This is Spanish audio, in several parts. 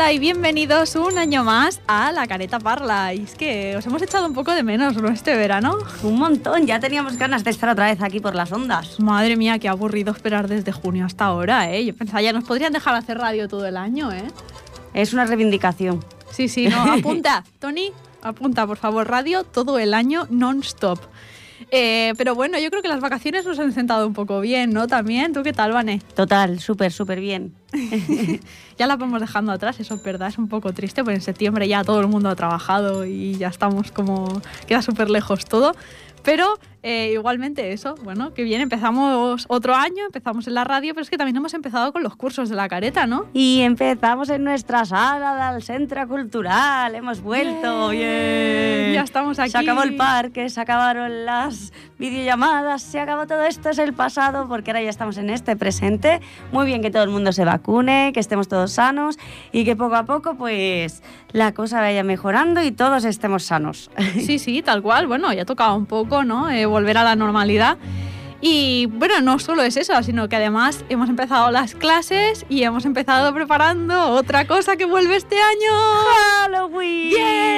Hola y bienvenidos un año más a La Careta Parla. Y es que os hemos echado un poco de menos este verano. Un montón, ya teníamos ganas de estar otra vez aquí por las ondas. Madre mía, qué aburrido esperar desde junio hasta ahora, ¿eh? Yo pensaba, ya nos podrían dejar hacer radio todo el año, ¿eh? Es una reivindicación. Sí, no, apunta, Tony, apunta, por favor, radio todo el año non-stop. Pero bueno, yo creo que las vacaciones nos han sentado un poco bien, ¿no? También, ¿tú qué tal, Vane? Total, súper bien. Ya las vamos dejando atrás, eso es verdad, es un poco triste, porque en septiembre ya todo el mundo ha trabajado y ya estamos como... queda súper lejos todo. Pero igualmente eso, bueno, que bien, empezamos otro año, empezamos en la radio, pero es que también hemos empezado con los cursos de la careta, ¿no? Y empezamos en nuestra sala del Centro Cultural, hemos vuelto, bien. Ya estamos aquí. Se acabó el parque, se acabaron las videollamadas, se acabó todo esto, es el pasado, porque ahora ya estamos en este presente. Muy bien que todo el mundo se vacune, que estemos todos sanos y que poco a poco pues la cosa vaya mejorando y todos estemos sanos. Sí, tal cual, bueno, ya tocaba un poco, ¿no? Volver a la normalidad. Y bueno, no solo es eso, sino que además hemos empezado las clases y hemos empezado preparando otra cosa que vuelve este año. ¡Halloween!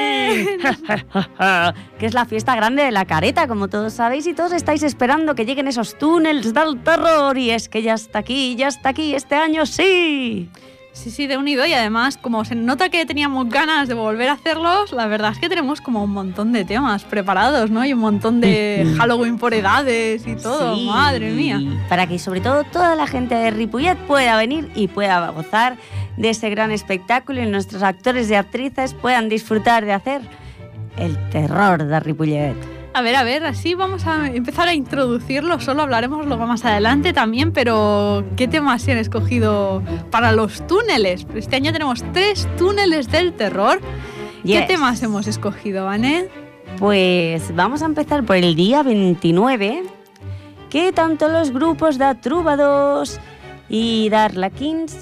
Que es la fiesta grande de la careta, como todos sabéis, y todos estáis esperando que lleguen esos túneles del terror. Y es que ya está aquí, este año sí. Sí, de unido, y además como se nota que teníamos ganas de volver a hacerlos, la verdad es que tenemos como un montón de temas preparados, ¿no? Y un montón de Halloween por edades y todo, sí. Madre mía. Para que sobre todo toda la gente de Ripollet pueda venir y pueda gozar de ese gran espectáculo y nuestros actores y actrices puedan disfrutar de hacer el terror de Ripollet. A ver, así vamos a empezar a introducirlo, solo hablaremos luego más adelante también, pero ¿qué temas se han escogido para los túneles? Este año tenemos 3 túneles del terror. Yes. ¿Qué temas hemos escogido, Vane? Pues vamos a empezar por el día 29, que tanto los grupos de Trúbados y Darlaquins,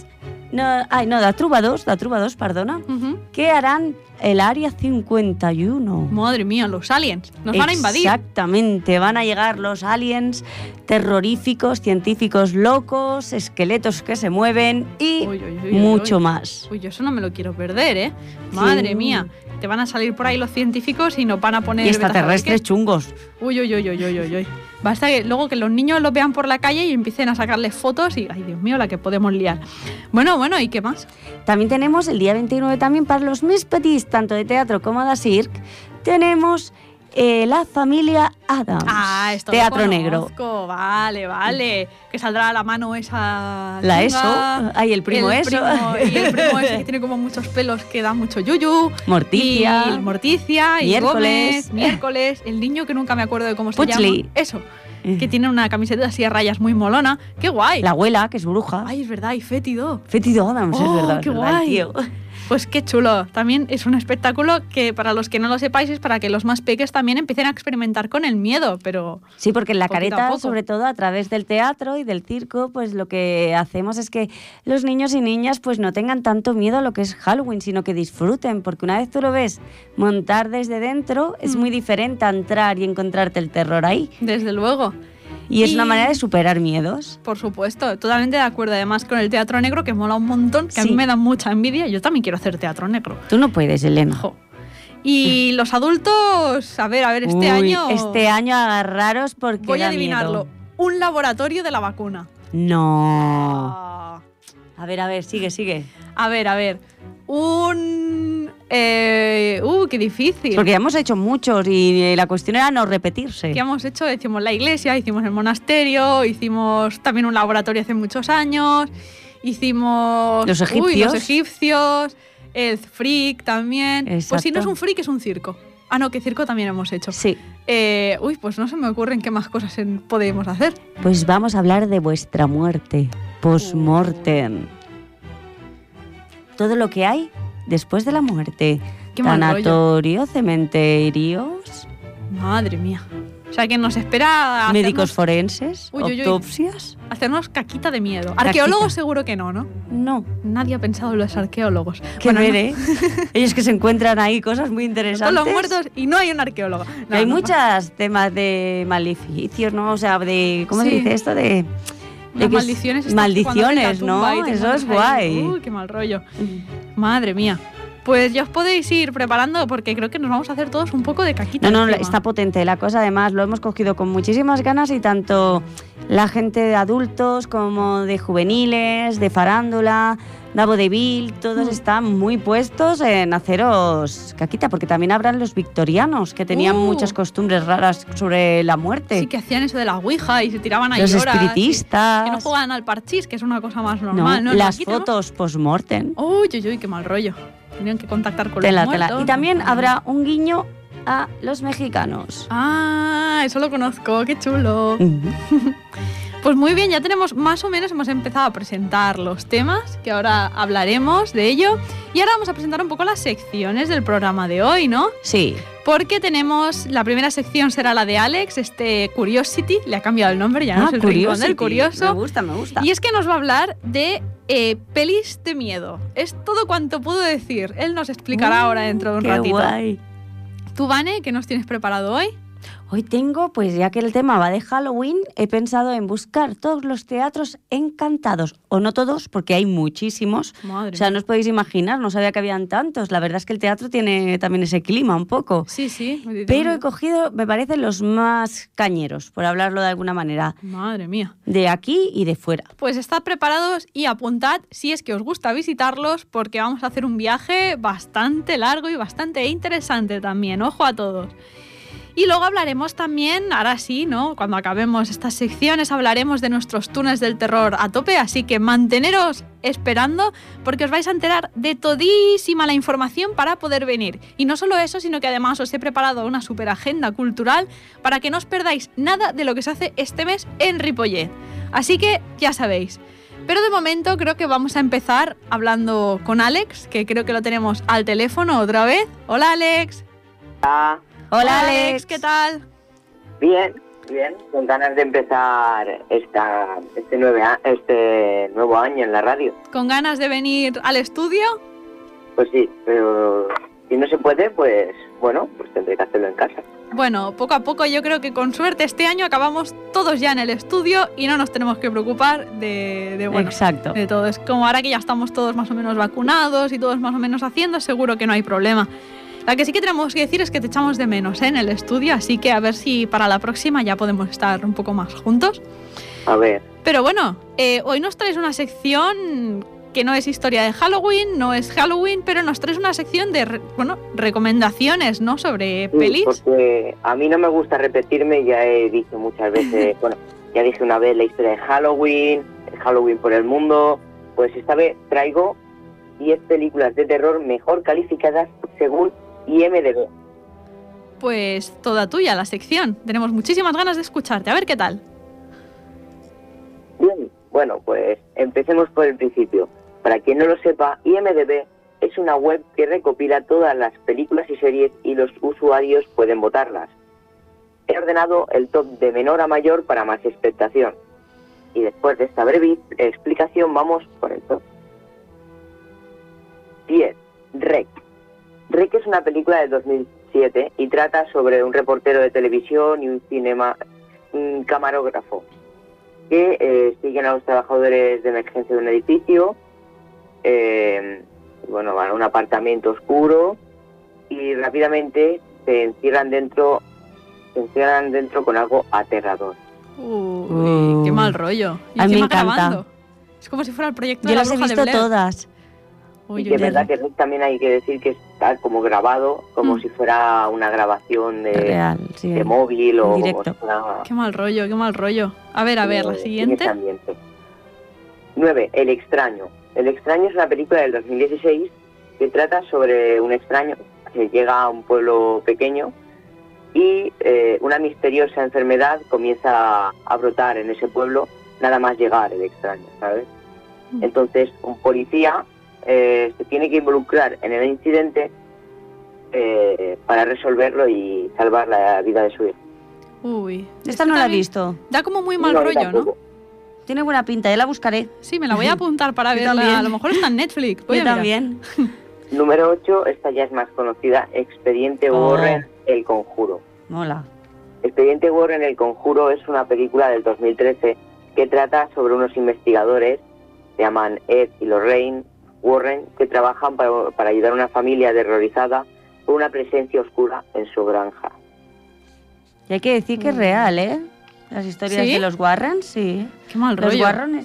de Trúbados, perdona, que harán el Área 51. Madre mía, los aliens nos van a invadir. Exactamente, van a llegar los aliens terroríficos, científicos locos, esqueletos que se mueven y mucho más. Uy, yo eso no me lo quiero perder, ¿eh? Madre mía, te van a salir por ahí los científicos y nos van a poner... Y extraterrestres chungos. Uy. Basta que luego que los niños los vean por la calle y empiecen a sacarles fotos y, ay Dios mío, la que podemos liar. Bueno, ¿y qué más? También tenemos el día 29 también para los més petits, tanto de teatro como de circ, tenemos la familia Adams. Esto teatro lo negro. Vale. Que saldrá a la mano esa... La ESO, el primo ESO. Y el primo ese que tiene como muchos pelos que da mucho yuyu. Morticia. Y Gómez. Miércoles. El niño que nunca me acuerdo de cómo se llama. Eso. Que tiene una camiseta así a rayas muy molona. ¡Qué guay! La abuela, que es bruja. Ay, es verdad, y Fétido Adams, es verdad. ¡Qué guay! Tío. Pues qué chulo. También es un espectáculo que, para los que no lo sepáis, es para que los más peques también empiecen a experimentar con el miedo, pero... Sí, porque en la careta, sobre todo a través del teatro y del circo, pues lo que hacemos es que los niños y niñas pues no tengan tanto miedo a lo que es Halloween, sino que disfruten, porque una vez tú lo ves montar desde dentro, es muy diferente a entrar y encontrarte el terror ahí. Desde luego. Y es una manera de superar miedos. Por supuesto, totalmente de acuerdo. Además con el teatro negro, que mola un montón, que a mí me da mucha envidia. Yo también quiero hacer teatro negro. Tú no puedes, Elena. Y los adultos, a ver, este año... Este año agarraros porque voy a da adivinarlo. Miedo. Un laboratorio de la vacuna. No. A ver, sigue. A ver. Qué difícil. Porque ya hemos hecho muchos y la cuestión era no repetirse. ¿Qué hemos hecho? Hicimos la iglesia, hicimos el monasterio, hicimos también un laboratorio hace muchos años, hicimos... Los egipcios, el freak también. Exacto. Pues si no es un freak, es un circo. No, que circo también hemos hecho. Sí. Pues no se me ocurren qué más cosas podemos hacer. Pues vamos a hablar de vuestra muerte, post-mortem. Todo lo que hay después de la muerte. Tanatorio, cementerios. Madre mía. O sea, que nos espera... Médicos forenses, autopsias. Hacernos caquita de miedo. Arqueólogos seguro que no. No. Nadie ha pensado en los arqueólogos. Ellos que se encuentran ahí cosas muy interesantes. Todos los muertos y no hay un arqueólogo. Hay muchos temas de maleficios, ¿no? O sea, de... ¿Cómo se dice esto? De Las maldiciones. Maldiciones, ¿no? Eso es guay. Uy, qué mal rollo. Madre mía. Pues ya os podéis ir preparando porque creo que nos vamos a hacer todos un poco de caquita. No, está potente la cosa. Además, lo hemos cogido con muchísimas ganas y tanto la gente de adultos como de juveniles, de farándula, Davo de Vil, todos están muy puestos en haceros caquita, porque también habrán los victorianos que tenían muchas costumbres raras sobre la muerte. Sí, que hacían eso de la ouija y se tiraban ahí los horas. Los espiritistas. Que no jugaban al parchís, que es una cosa más normal. No, las fotos post-mortem. Uy, qué mal rollo. Tenían que contactar con los muertos. Y también habrá un guiño a los mexicanos. Ah, eso lo conozco, qué chulo. Pues muy bien, ya tenemos más o menos, hemos empezado a presentar los temas, que ahora hablaremos de ello. Y ahora vamos a presentar un poco las secciones del programa de hoy, ¿no? Sí. Porque tenemos, la primera sección será la de Alex, Curiosity, le ha cambiado el nombre, ya no es el rincón del curioso. Me gusta. Y es que nos va a hablar de pelis de miedo. Es todo cuanto puedo decir. Él nos explicará ahora dentro de un ratito. Guay. ¿Tú, Vane, qué nos tienes preparado hoy? Hoy tengo, pues ya que el tema va de Halloween, he pensado en buscar todos los teatros encantados. O no todos, porque hay muchísimos. Madre o sea, no os podéis imaginar, no sabía que habían tantos. La verdad es que el teatro tiene también ese clima un poco. Sí. Pero he cogido, me parecen los más cañeros, por hablarlo de alguna manera. Madre mía. De aquí y de fuera. Pues estad preparados y apuntad si es que os gusta visitarlos, porque vamos a hacer un viaje bastante largo y bastante interesante también. Ojo a todos. Y luego hablaremos también, ahora sí, ¿no? Cuando acabemos estas secciones hablaremos de nuestros túneles del terror a tope, así que manteneros esperando porque os vais a enterar de todísima la información para poder venir. Y no solo eso, sino que además os he preparado una super agenda cultural para que no os perdáis nada de lo que se hace este mes en Ripollet. Así que ya sabéis. Pero de momento creo que vamos a empezar hablando con Alex, que creo que lo tenemos al teléfono otra vez. Hola, Alex. Hola, Alex, ¿qué tal? Bien, con ganas de empezar este nuevo año en la radio. ¿Con ganas de venir al estudio? Pues sí, pero si no se puede, pues bueno, pues tendré que hacerlo en casa. Bueno, poco a poco yo creo que con suerte este año acabamos todos ya en el estudio y no nos tenemos que preocupar de todo. Es como ahora que ya estamos todos más o menos vacunados y todos más o menos haciendo, seguro que no hay problema. La que sí que tenemos que decir es que te echamos de menos en el estudio, así que a ver si para la próxima ya podemos estar un poco más juntos. A ver. Pero bueno, hoy nos traes una sección que no es historia de Halloween, no es Halloween, pero nos traes una sección de recomendaciones, ¿no? Sobre pelis. Porque a mí no me gusta repetirme, ya he dicho muchas veces, ya dije una vez la historia de Halloween, el Halloween por el mundo, pues esta vez traigo 10 películas de terror mejor calificadas según IMDb. Pues toda tuya la sección. Tenemos muchísimas ganas de escucharte. A ver qué tal. Bien, bueno, pues empecemos por el principio. Para quien no lo sepa, IMDb es una web que recopila todas las películas y series y los usuarios pueden votarlas. He ordenado el top de menor a mayor para más expectación. Y después de esta breve explicación vamos con el top. 10. REC. REC es una película de 2007 y trata sobre un reportero de televisión y un camarógrafo que siguen a los trabajadores de emergencia de un edificio, van a un apartamento oscuro y rápidamente se encierran dentro con algo aterrador. Qué mal rollo. Y a mí me encima encanta. Grabando. Es como si fuera el proyecto de la Bruja de Blair. Yo las he visto todas. Y que es verdad que también hay que decir que está como grabado, como si fuera una grabación real, sí, de móvil o directo. Qué mal rollo. A ver, la siguiente. 9. El extraño. El extraño es una película del 2016 que trata sobre un extraño que llega a un pueblo pequeño y una misteriosa enfermedad comienza a brotar en ese pueblo nada más llegar el extraño, ¿sabes? Entonces un policía se tiene que involucrar en el incidente para resolverlo y salvar la vida de su hijo. Esta no la he visto. Da como muy mal rollo, tampoco. ¿no? Tiene buena pinta, ya la buscaré. Sí, me la voy a apuntar para verla. También. A lo mejor está en Netflix. Yo también. Número 8, esta ya es más conocida, Expediente Warren, El Conjuro. Mola. Expediente Warren, El Conjuro es una película del 2013 que trata sobre unos investigadores, se llaman Ed y Lorraine Warren, que trabajan para ayudar a una familia aterrorizada por una presencia oscura en su granja. Y hay que decir que es real, ¿eh? Las historias ¿Sí? de los Warren, sí. Qué mal rollo.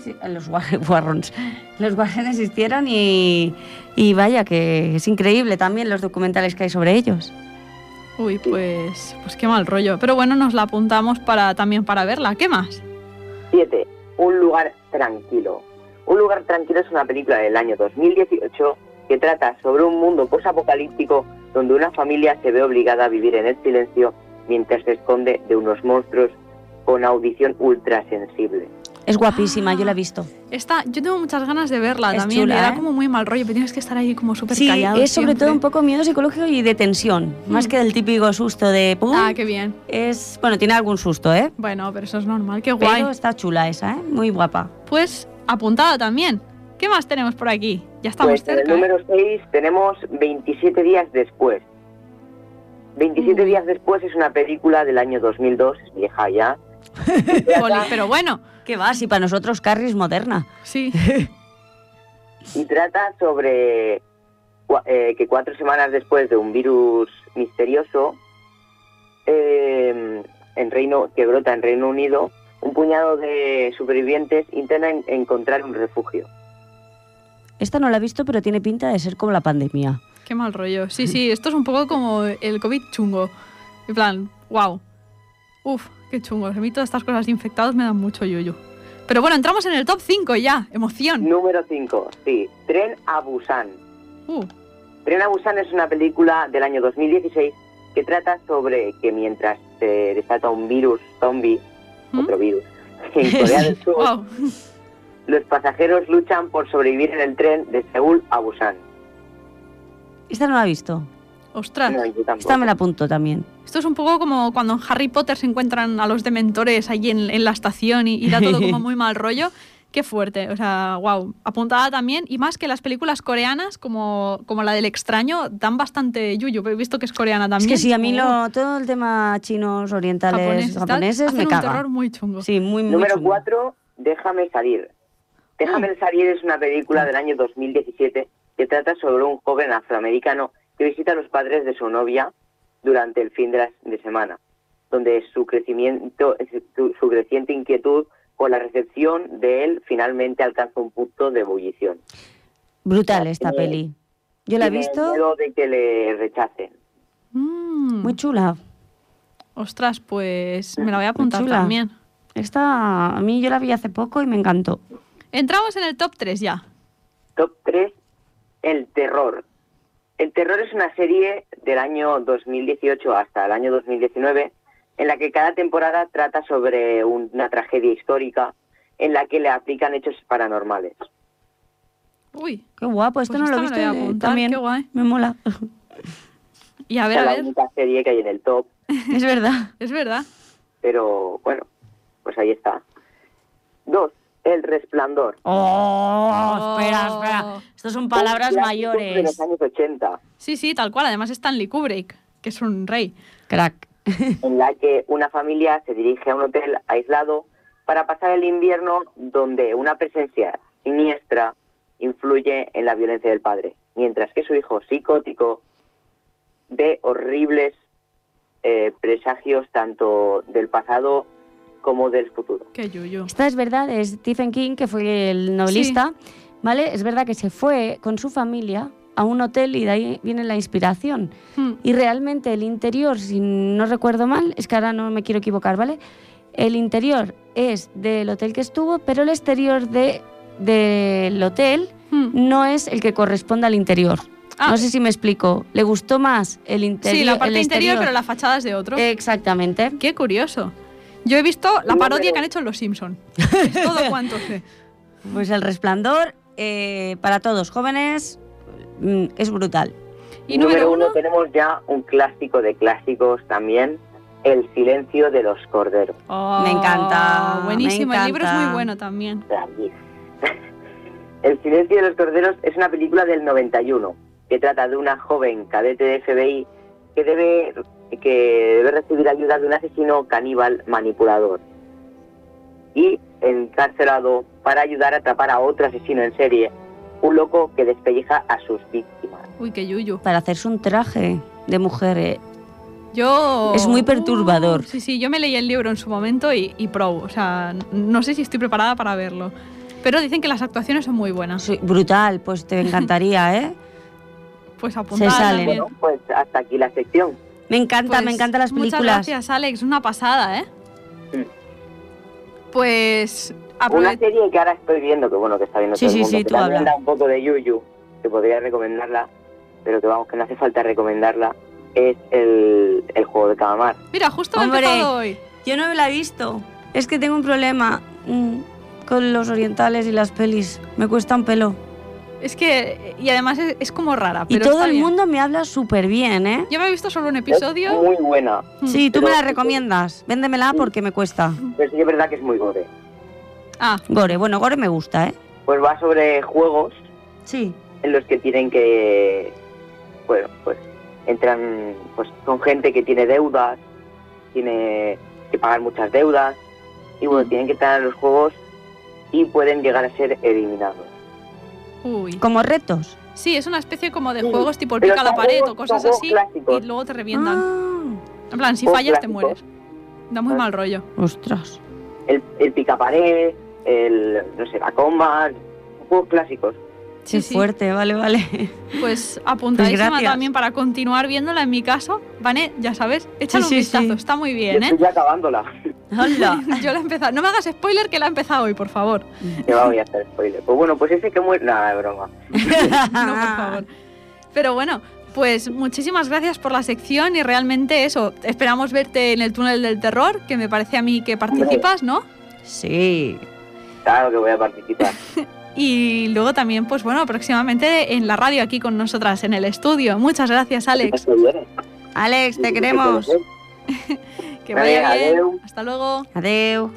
Los Warren existieron y vaya, que es increíble también los documentales que hay sobre ellos. Uy, pues qué mal rollo. Pero bueno, nos la apuntamos también para verla. ¿Qué más? 7. Un lugar tranquilo. Un lugar tranquilo es una película del año 2018 que trata sobre un mundo posapocalíptico donde una familia se ve obligada a vivir en el silencio mientras se esconde de unos monstruos con audición ultrasensible. Es guapísima, yo la he visto. Yo tengo muchas ganas de verla Es también. chula, Me da ¿eh? como muy mal rollo, pero tienes que estar ahí como súper Sí, callado. es sobre siempre. todo un poco miedo psicológico y de tensión, más que del típico susto de ¡pum! Ah, qué bien. Bueno, tiene algún susto, ¿eh? Bueno, pero eso es normal, qué guay. Pero está chula esa, ¿eh? Muy guapa. Pues apuntada también. ¿Qué más tenemos por aquí? Ya estamos Pues en el cerca. número 6 tenemos 27 días después. 27 días después es una película del año 2002, es vieja ya. Pero bueno, ¿Qué va? Si para nosotros Carrie es moderna. sí. Y trata sobre que 4 semanas después de un virus misterioso que brota en Reino Unido, un puñado de supervivientes intentan encontrar un refugio. Esta no la he visto, pero tiene pinta de ser como la pandemia. Qué mal rollo. Sí, esto es un poco como el COVID chungo. En plan, wow. Uf, qué chungo. A mí todas estas cosas de infectados me dan mucho yuyu. Pero bueno, entramos en el top 5 ya. Emoción. Número 5, sí, Tren a Busan. Tren a Busan es una película del año 2016 que trata sobre que mientras se desata un virus zombie, otro virus, en Corea del Sur, Wow. los pasajeros luchan por sobrevivir en el tren de Seúl a Busan. Esta no la he visto. Ostras. No, yo tampoco. Esta me la apunto también. Esto es un poco como cuando en Harry Potter se encuentran a los dementores allí en la estación y da todo como muy mal rollo. Qué fuerte, o sea, wow. Apuntada también, y más que las películas coreanas, como la del extraño, dan bastante yuyu. He visto que es coreana también. Es que sí, a mí todo el tema chinos, orientales, japoneses me hacen caga. un terror muy chungo. Sí, muy Número chungo. 4, Déjame salir. Déjame salir es una película del año 2017 que trata sobre un joven afroamericano que visita a los padres de su novia durante el fin de semana, donde su creciente inquietud por la recepción de él finalmente alcanza un punto de ebullición. Brutal esta peli. Yo la he visto. Tiene miedo de que le rechacen. Muy chula. Ostras, pues me la voy a apuntar chula. también. Esta, a mí yo la vi hace poco y me encantó. Entramos en el top 3 ya. Top 3, El terror. El terror es una serie del año 2018 hasta el año 2019 en la que cada temporada trata sobre una tragedia histórica en la que le aplican hechos paranormales. Uy. Qué guapo, esto Pues no lo he esta visto me la voy a apuntar, también. qué guay. Me mola. Y a Es ver, la única serie que hay en el top, Es verdad. es verdad. pero bueno, pues ahí está. 2, El Resplandor. Oh, espera. Estas son palabras Un clásico de mayores. los años 80, Sí, tal cual. Además Stanley Kubrick, que es un rey. Crack. en la que una familia se dirige a un hotel aislado para pasar el invierno donde una presencia siniestra influye en la violencia del padre, mientras que su hijo psicótico ve horribles presagios tanto del pasado como del futuro. Qué yuyu. Esta es verdad, es Stephen King, que fue el novelista, ¿vale? Es verdad que se fue con su familia a un hotel y de ahí viene la inspiración. Y realmente el interior, si no recuerdo mal, es que ahora no me quiero equivocar, ¿vale? El interior es del hotel que estuvo, pero el exterior del hotel no es el que corresponde al interior. No sé si me explico. ¿Le gustó más el interior? Sí, la parte el interior, exterior? pero la fachada es de otro. Exactamente. Qué curioso. Yo he visto la parodia que han hecho en Los Simpson. Es todo cuanto sé. Pues El Resplandor, para todos jóvenes, es brutal. Y número 1 tenemos ya un clásico de clásicos también, El silencio de los corderos. Oh, Me encanta. Buenísimo, me el libro es encanta. muy bueno también. El silencio de los corderos es una película del 91 que trata de una joven cadete de FBI que debe recibir ayuda de un asesino caníbal manipulador. y encarcelado para ayudar a atrapar a otro asesino en serie, un loco que despelleja a sus víctimas. Uy, qué yuyu. Para hacerse un traje de mujer. Yo... Es muy perturbador. Sí, yo me leí el libro en su momento y probo. O sea, no sé si estoy preparada para verlo. Pero dicen que las actuaciones son muy buenas. Sí, brutal, pues te encantaría, ¿eh? Pues apuntar Se salen. también. Bueno, pues hasta aquí la sección. Me encantan Pues, las películas. Muchas gracias, Alex. Una pasada, ¿eh? Sí. Pues... Una serie que ahora estoy viendo, que bueno, que está viendo Sí, todo el sí, mundo, sí, que tú también habla. da un poco de yuyu, que podría recomendarla, pero que vamos, que no hace falta recomendarla, es el juego de calamar. Mira, justo me he Hombre. empezado hoy. Yo no la he visto. Es que tengo un problema con los orientales y las pelis. Me cuesta un pelo. Es que... Y además es como rara, Y pero todo está el bien. mundo me habla súper bien, ¿eh? Yo me he visto solo un Es episodio. muy buena, Sí, tú Pero- me la recomiendas. Véndemela porque me cuesta. pero sí que es verdad que es muy gore. Ah, Gore, bueno, Gore me gusta, ¿eh? Pues va sobre juegos Sí. en los que tienen que, bueno, pues entran, pues con gente que tiene deudas, tiene que pagar muchas deudas, y bueno, tienen que entrar a los juegos y pueden llegar a ser eliminados. uy. Como retos. Sí, es una especie como de Sí, juegos tipo el pero pica la son pared juegos- o cosas son así juegos clásicos. y luego te revientan. Ah, En plan, si juegos fallas te clásicos. mueres. Da muy mal rollo. ostras. El picapared, no sé, la comba, juegos clásicos. Qué Sí. fuerte, vale. Pues apuntadísima gracias. también para continuar viéndola en mi caso. Vane, ya sabes, échale Sí, un sí, vistazo, sí. está muy Yo bien, ¿eh? estoy ya acabándola. Hola. Yo la he empezado. No me hagas spoiler que la he empezado hoy, por favor. Que voy a hacer spoiler. Pues bueno, pues ese que muere... Nada, de broma. No, por favor. Pero bueno, pues muchísimas gracias por la sección y realmente eso, esperamos verte en el túnel del terror, que me parece a mí que participas, ¿no? Sí. Claro que voy a participar. Y luego también, pues bueno, próximamente en la radio aquí con nosotras en el estudio. Muchas gracias, Alex. Esto viene. Alex, te queremos. Que vaya Vale, bien. adeu. Hasta luego. Adeu.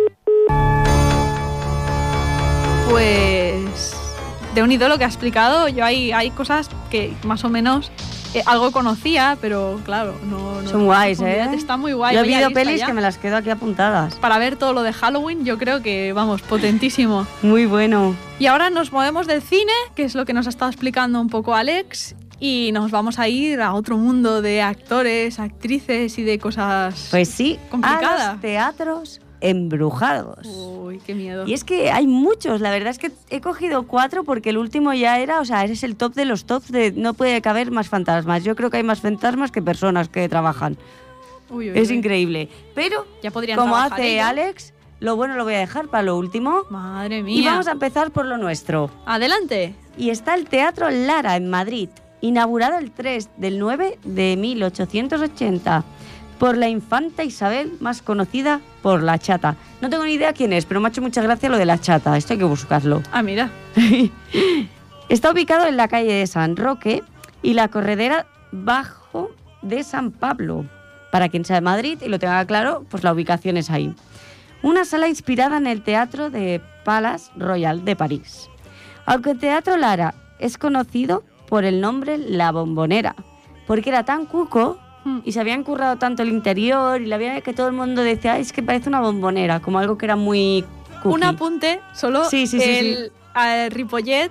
Pues de unido lo que ha explicado, yo hay cosas que más o menos algo conocía, pero claro, no Son guays, ¿eh? Está muy guay. Yo he vaya visto lista pelis ya. que me las quedo aquí apuntadas. Para ver todo lo de Halloween, yo creo que, vamos, potentísimo. Muy bueno. Y ahora nos movemos del cine, que es lo que nos ha estado explicando un poco Alex, y nos vamos a ir a otro mundo de actores, actrices y de cosas... Pues sí, Complicada. a los teatros embrujados. Uy, qué miedo. Y es que hay muchos, la verdad es que he cogido 4 porque el último ya era, o sea, eres el top de los tops de no puede caber más fantasmas. Yo creo que hay más fantasmas que personas que trabajan. Uy, uy, Es uy. increíble. Pero, Ya podrían como trabajar hace ellos. Alex, lo bueno lo voy a dejar para lo último. Madre Y mía. vamos a empezar por lo nuestro. Adelante. Y está el Teatro Lara en Madrid, inaugurado el 3 del 9 de 1880 por la infanta Isabel, más conocida por la Chata. No tengo ni idea quién es, pero me ha hecho mucha gracia lo de la Chata. Esto hay que buscarlo. Ah, mira. Está ubicado en la calle de San Roque y la corredera Bajo de San Pablo. Para quien sea de Madrid y lo tenga claro, pues la ubicación es ahí. Una sala inspirada en el Teatro de Palace Royal de París. Aunque el Teatro Lara es conocido por el nombre La Bombonera, porque era tan cuco y se habían currado tanto el interior y la vida que todo el mundo decía, "Ay, es que parece una bombonera", como algo que era muy cookie. Un apunte, solo Sí, sí, sí, el Ripollet,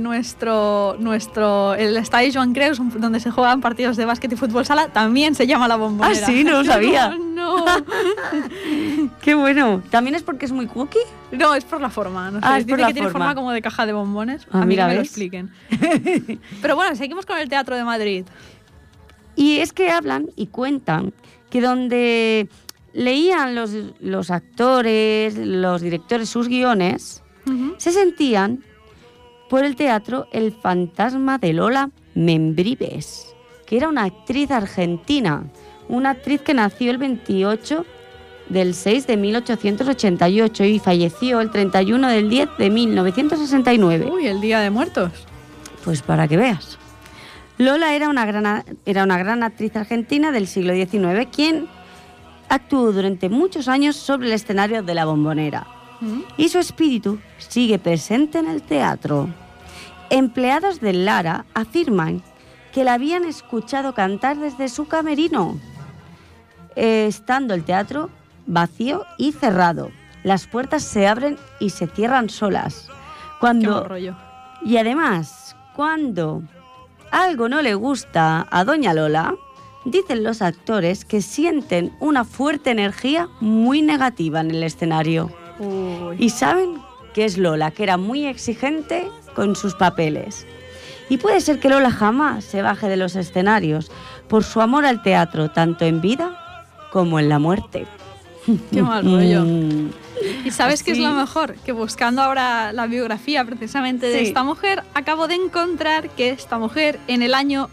el estadio Joan Creus, donde se juegan partidos de básquet y fútbol sala, también se llama La Bombonera. Ah, sí, no lo sabía. No, ¡Qué bueno! ¿También es porque es muy cookie? no, es por la forma. No sé, Ah, es dice por la que tiene forma. forma como de caja de bombones. Ah, a mí mira, que me lo ¿ves? expliquen. Pero bueno, seguimos con el Teatro de Madrid. Y es que hablan y cuentan que donde leían los actores, los directores sus guiones, Ujú. se sentían por el teatro el fantasma de Lola Membrives, que era una actriz argentina, una actriz que nació el 28 del 6 de 1888 y falleció el 31 del 10 de 1969. Uy, el Día de Muertos. Pues para que veas. Lola era una gran actriz argentina del siglo XIX, quien actuó durante muchos años sobre el escenario de La Bombonera. Y su espíritu sigue presente en el teatro. Empleados de Lara afirman que la habían escuchado cantar desde su camerino, estando el teatro vacío y cerrado. las puertas se abren y se cierran solas. Qué mal rollo. Y además, cuando algo no le gusta a Doña Lola, dicen los actores que sienten una fuerte energía muy negativa en el escenario. Uy. Y saben que es Lola, que era muy exigente con sus papeles. Y puede ser que Lola jamás se baje de los escenarios por su amor al teatro, tanto en vida como en la muerte. Qué mal rollo. ¿Y sabes Así. qué es lo mejor? Que buscando ahora la biografía precisamente de Sí. esta mujer, acabo de encontrar que esta mujer en el año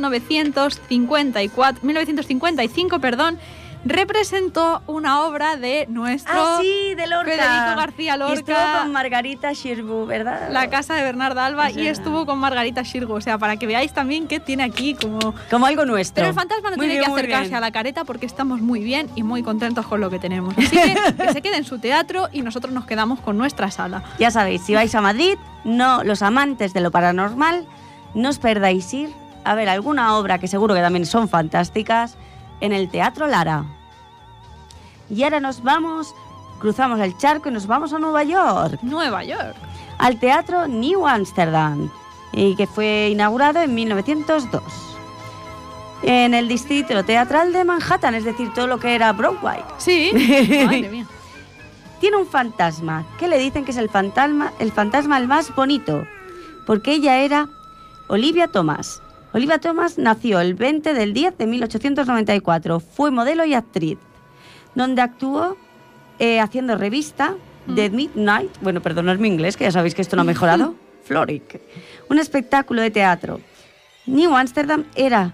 1955, representó una obra de nuestro De Lorca. Federico García Y estuvo Lorca, con Margarita Xirgu, ¿verdad? La casa de Bernarda Alba, Es y verdad. estuvo con Margarita Xirgu. O sea, para que veáis también que tiene aquí como... Como algo nuestro. Pero el fantasma no Muy tiene bien, que muy acercarse bien. a la careta porque estamos muy bien y muy contentos con lo que tenemos. Así que se quede en su teatro y nosotros nos quedamos con nuestra sala. Ya sabéis, si vais a Madrid, no, los amantes de lo paranormal, no os perdáis ir a ver alguna obra que seguro que también son fantásticas en el Teatro Lara. Y ahora cruzamos el charco y nos vamos a Nueva York, Nueva York. al Teatro New Amsterdam, y que fue inaugurado en 1902. En el distrito teatral de Manhattan, es decir, todo lo que era Broadway. Sí. Madre mía. Tiene un fantasma, que le dicen que es el fantasma el más bonito, porque ella era Olivia Thomas. Olivia Thomas nació el 20 del 10 de 1894, fue modelo y actriz, donde actuó haciendo revista The Midnight, bueno, perdonad mi inglés, que ya sabéis que esto no ha mejorado, Floric, un espectáculo de teatro. New Amsterdam era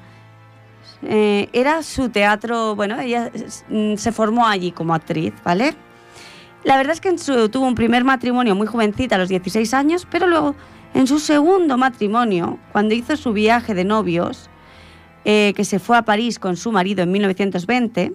su teatro, bueno, ella se formó allí como actriz, ¿vale? La verdad es que tuvo un primer matrimonio muy jovencita, a los 16 años, pero luego, en su segundo matrimonio, cuando hizo su viaje de novios, que se fue a París con su marido en 1920,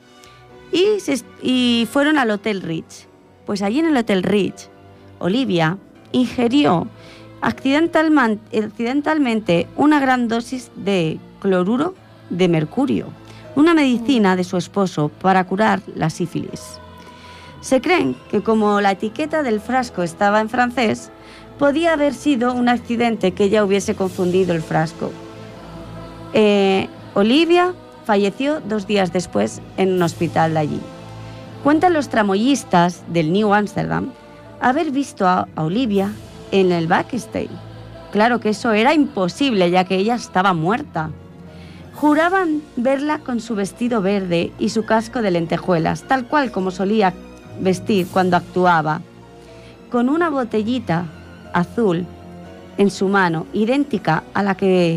y fueron al Hotel Ritz. Pues allí en el Hotel Ritz, Olivia ingirió accidentalmente una gran dosis de cloruro de mercurio, una medicina de su esposo para curar la sífilis. Se creen que como la etiqueta del frasco estaba en francés, podía haber sido un accidente que ella hubiese confundido el frasco. Olivia falleció 2 días después en un hospital de allí. Cuentan los tramoyistas del New Amsterdam haber visto a Olivia en el backstage. Claro que eso era imposible, ya que ella estaba muerta. Juraban verla con su vestido verde y su casco de lentejuelas, tal cual como solía vestir cuando actuaba, con una botellita azul en su mano, idéntica a la que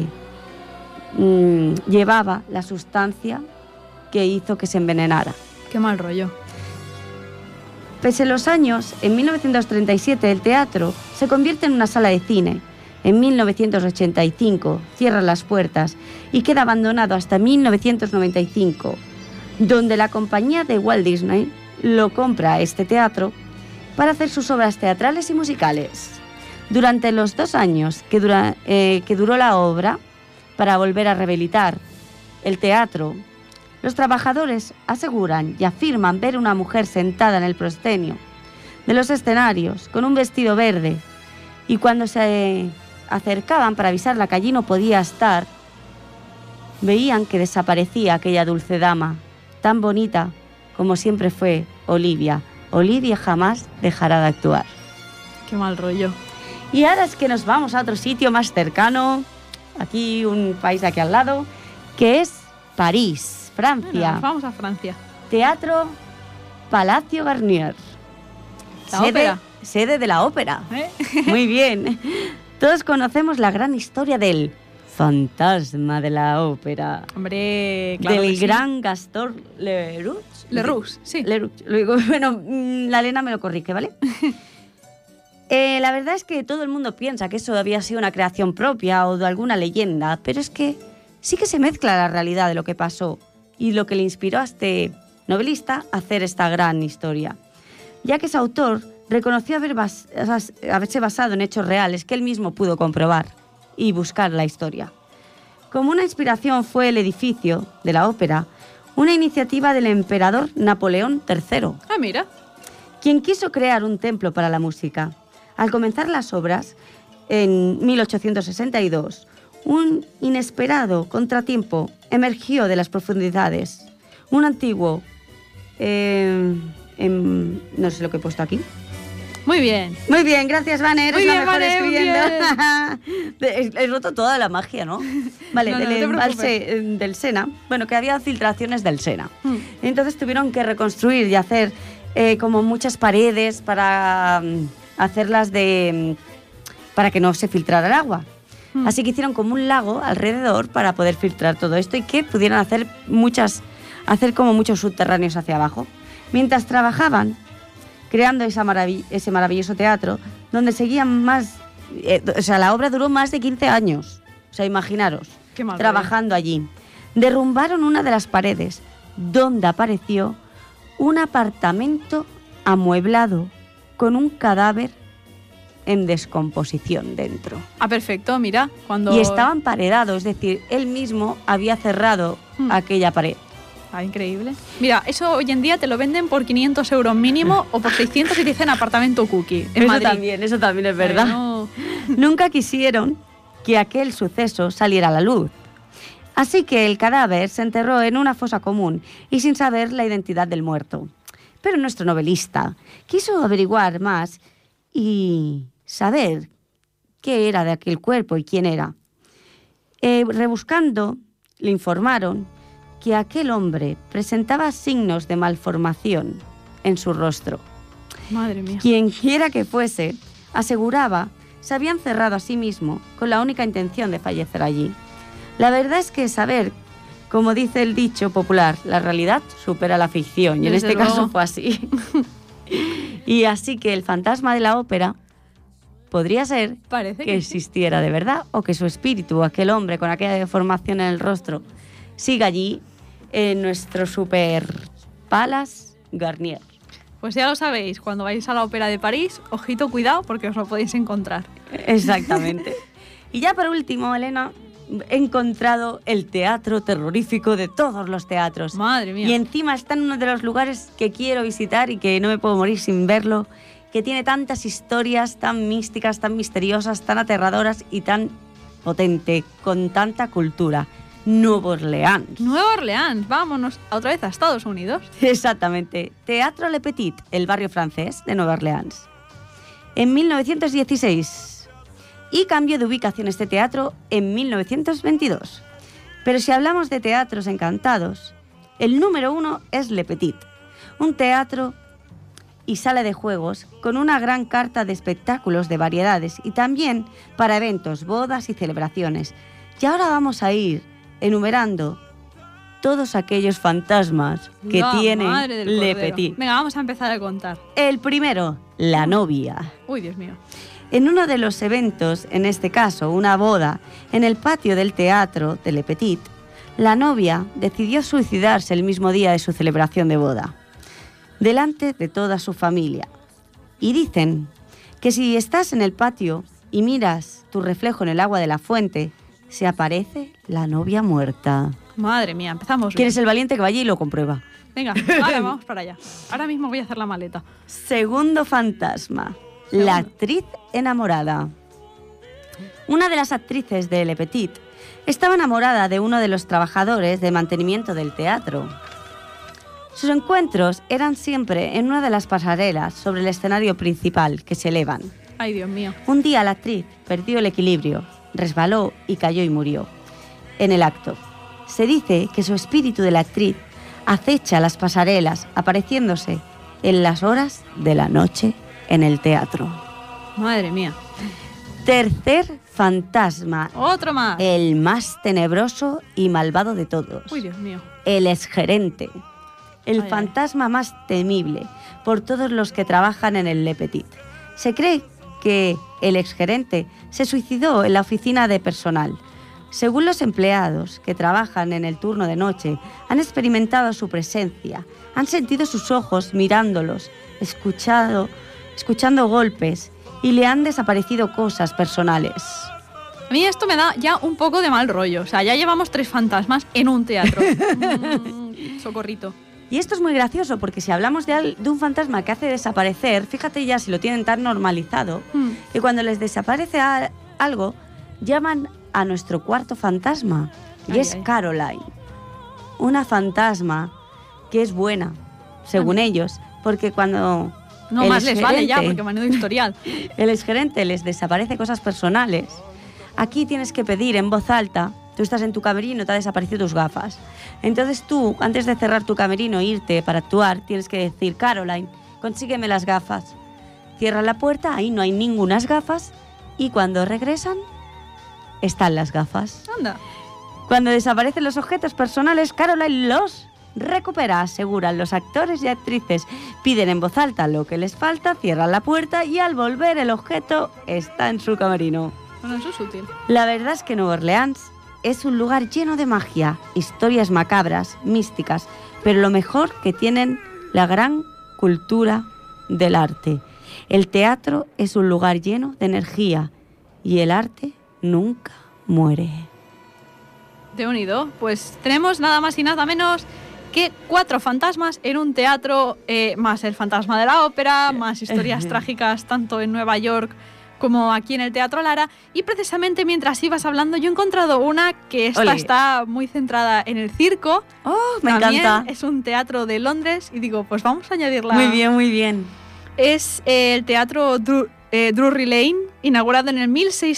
llevaba la sustancia que hizo que se envenenara. Qué mal rollo. Pese a los años, en 1937 el teatro se convierte en una sala de cine. En 1985 cierra las puertas y queda abandonado hasta 1995, donde la compañía de Walt Disney lo compra a este teatro para hacer sus obras teatrales y musicales. Durante los 2 años que duró la obra, para volver a rehabilitar el teatro, los trabajadores aseguran y afirman ver una mujer sentada en el proscenio de los escenarios con un vestido verde, y cuando se acercaban para avisarla que allí no podía estar, veían que desaparecía aquella dulce dama, tan bonita como siempre fue Olivia. Olivia jamás dejará de actuar. Qué mal rollo. Y ahora es que nos vamos a otro sitio más cercano, aquí un país de aquí al lado, que es París, Francia. Bueno, nos vamos a Francia. Teatro Palacio Garnier. La ópera. Sede de la ópera. ¿Eh? Muy bien. Todos conocemos la gran historia del fantasma de la ópera. Hombre, claro del que sí. gran Gaston Leroux. Leroux, sí. Leroux. Luego, bueno, la Elena me lo corrige, ¿vale? La verdad es que todo el mundo piensa que eso había sido una creación propia o de alguna leyenda, pero es que sí que se mezcla la realidad de lo que pasó y lo que le inspiró a este novelista a hacer esta gran historia, ya que ese autor reconoció haberse basado en hechos reales que él mismo pudo comprobar y buscar la historia. Como una inspiración fue el edificio de la ópera, una iniciativa del emperador Napoleón III, Ah, mira. quien quiso crear un templo para la música. Al comenzar las obras, en 1862, un inesperado contratiempo emergió de las profundidades. Un antiguo... no sé lo que he puesto aquí. Muy bien. Muy bien, gracias, Vane. Eres Muy la bien, mejor Vane, escribiendo. He roto toda la magia, ¿no? Vale, No, del no te embalse del Sena. Bueno, que había filtraciones del Sena. Entonces tuvieron que reconstruir y hacer como muchas paredes para hacerlas para que no se filtrara el agua. Así que hicieron como un lago alrededor para poder filtrar todo esto y que pudieran hacer como muchos subterráneos hacia abajo. Mientras trabajaban creando ese maravilloso teatro, donde seguían la obra duró más de 15 años. O sea, imaginaros, trabajando allí. Derrumbaron una de las paredes, donde apareció un apartamento amueblado con un cadáver en descomposición dentro. Ah, perfecto, mira. Y estaba emparedado, es decir, él mismo había cerrado aquella pared. Ah, increíble. Mira, eso hoy en día te lo venden por 500 euros mínimo o por 600 y te dicen apartamento cookie en Madrid. Eso también es verdad. No. Nunca quisieron que aquel suceso saliera a la luz. Así que el cadáver se enterró en una fosa común y sin saber la identidad del muerto. Pero nuestro novelista quiso averiguar más y saber qué era de aquel cuerpo y quién era. Rebuscando, le informaron que aquel hombre presentaba signos de malformación en su rostro. Madre mía. Quien quiera que fuese, aseguraba, se había encerrado a sí mismo con la única intención de fallecer allí. La verdad es que saber, como dice el dicho popular, la realidad supera la ficción, y en este caso fue así. Y así que el fantasma de la ópera podría ser que existiera de verdad, o que su espíritu, aquel hombre con aquella deformación en el rostro, siga allí en nuestro super Palace Garnier. Pues ya lo sabéis, cuando vais a la ópera de París, ojito, cuidado, porque os lo podéis encontrar. Exactamente. Y ya por último, Elena, he encontrado el teatro terrorífico de todos los teatros. Madre mía. Y encima está en uno de los lugares que quiero visitar y que no me puedo morir sin verlo, que tiene tantas historias tan místicas, tan misteriosas, tan aterradoras y tan potente, con tanta cultura. Nueva Orleans. Nueva Orleans, vámonos otra vez a Estados Unidos. Exactamente. Teatro Le Petit, el barrio francés de Nueva Orleans. En 1916. Y cambió de ubicación este teatro en 1922. Pero si hablamos de teatros encantados, el número 1 es Le Petit. Un teatro y sala de juegos con una gran carta de espectáculos de variedades y también para eventos, bodas y celebraciones. Y ahora vamos a ir enumerando todos aquellos fantasmas que tiene Le Petit. Venga, vamos a empezar a contar. El primero, la novia. Uy, Dios mío. En uno de los eventos, en este caso una boda, en el patio del teatro de Le Petit, la novia decidió suicidarse el mismo día de su celebración de boda, delante de toda su familia. Y dicen que si estás en el patio y miras tu reflejo en el agua de la fuente, se aparece la novia muerta. Madre mía, empezamos bien. ¿Quién es el valiente que vaya y lo comprueba? Venga, ahora vamos para allá. Ahora mismo voy a hacer la maleta. Segundo fantasma, la actriz enamorada. Una de las actrices de Le Petit estaba enamorada de uno de los trabajadores de mantenimiento del teatro. Sus encuentros eran siempre en una de las pasarelas sobre el escenario principal que se elevan. Ay, Dios mío. Un día la actriz perdió el equilibrio, resbaló y cayó y murió. En el acto, se dice que su espíritu de la actriz acecha las pasarelas, apareciéndose en las horas de la noche en el teatro. Madre mía. Tercer fantasma. Otro más. El más tenebroso y malvado de todos. Uy, Dios mío. El exgerente. El fantasma más temible por todos los que trabajan en el Le Petit. Se cree que el exgerente se suicidó en la oficina de personal. Según los empleados que trabajan en el turno de noche, han experimentado su presencia, han sentido sus ojos mirándolos, escuchando golpes y le han desaparecido cosas personales. A mí esto me da ya un poco de mal rollo. O sea, ya llevamos 3 fantasmas en un teatro. Socorrito. Y esto es muy gracioso porque si hablamos de un fantasma que hace desaparecer, fíjate ya si lo tienen tan normalizado, que cuando les desaparece algo, llaman a nuestro cuarto fantasma, y es Caroline. Una fantasma que es buena, según ellos, porque cuando... No más les vale ya, porque menudo historial. El exgerente les desaparece cosas personales. Aquí tienes que pedir en voz alta. Tú estás en tu camerino, te ha desaparecido tus gafas. Entonces tú, antes de cerrar tu camerino e irte para actuar, tienes que decir: Caroline, consígueme las gafas. Cierra la puerta, ahí no hay ningunas gafas, y cuando regresan, están las gafas. Anda. Cuando desaparecen los objetos personales, Caroline los recupera, aseguran los actores y actrices. Piden en voz alta lo que les falta, cierran la puerta y al volver el objeto está en su camerino. Bueno, eso es útil. La verdad es que Nueva Orleans es un lugar lleno de magia, historias macabras, místicas, pero lo mejor que tienen la gran cultura del arte. El teatro es un lugar lleno de energía y el arte nunca muere. De unido, pues tenemos nada más y nada menos que 4 fantasmas en un teatro, más el fantasma de la ópera, más historias trágicas tanto en Nueva York como aquí en el Teatro Lara. Y precisamente mientras ibas hablando, yo he encontrado una que está muy centrada en el circo. ¡Oh, me También encanta! Es un teatro de Londres y digo, pues vamos a añadirla. Muy bien, muy bien. Es el teatro Drury Lane, inaugurado en el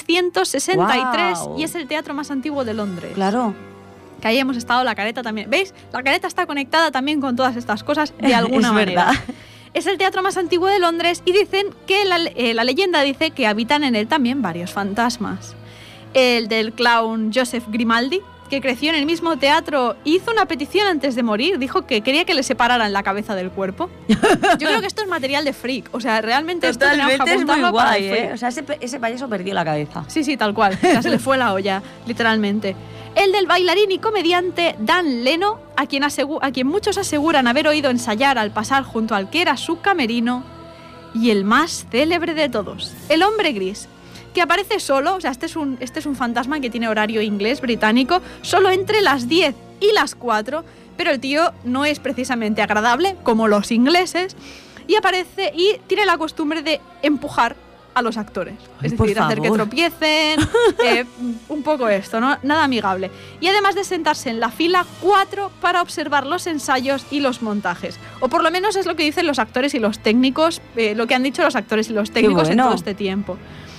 1663. Wow. Y es el teatro más antiguo de Londres. Claro. Que ahí hemos estado, la careta también. ¿Veis? La careta está conectada también con todas estas cosas de alguna Es manera. verdad. Es el teatro más antiguo de Londres y dicen que la leyenda dice que habitan en él también varios fantasmas. El del clown Joseph Grimaldi, que creció en el mismo teatro, hizo una petición antes de morir. Dijo que quería que le separaran la cabeza del cuerpo. Yo creo que esto es material de freak. O sea, realmente Totalmente, esto tenemos que es muy apuntarlo para el guay, freak. ¿eh? O sea, ese payaso perdió la cabeza. Sí, sí, tal cual. O sea, se le fue la olla, literalmente. El del bailarín y comediante Dan Leno, a quien muchos aseguran haber oído ensayar al pasar junto al que era su camerino. Y el más célebre de todos, el hombre gris, que aparece solo. O sea, este es un fantasma que tiene horario inglés, británico, solo entre las 10 y las 4, pero el tío no es precisamente agradable, como los ingleses, y aparece y tiene la costumbre de empujar a los actores. Ay, es decir, hacer que favor. tropiecen, un poco esto, ¿no? Nada amigable. Y además de sentarse en la fila 4 para observar los ensayos y los montajes. O por lo menos es lo que dicen los actores y los técnicos, lo que han dicho los actores y los técnicos bueno. en todo este tiempo.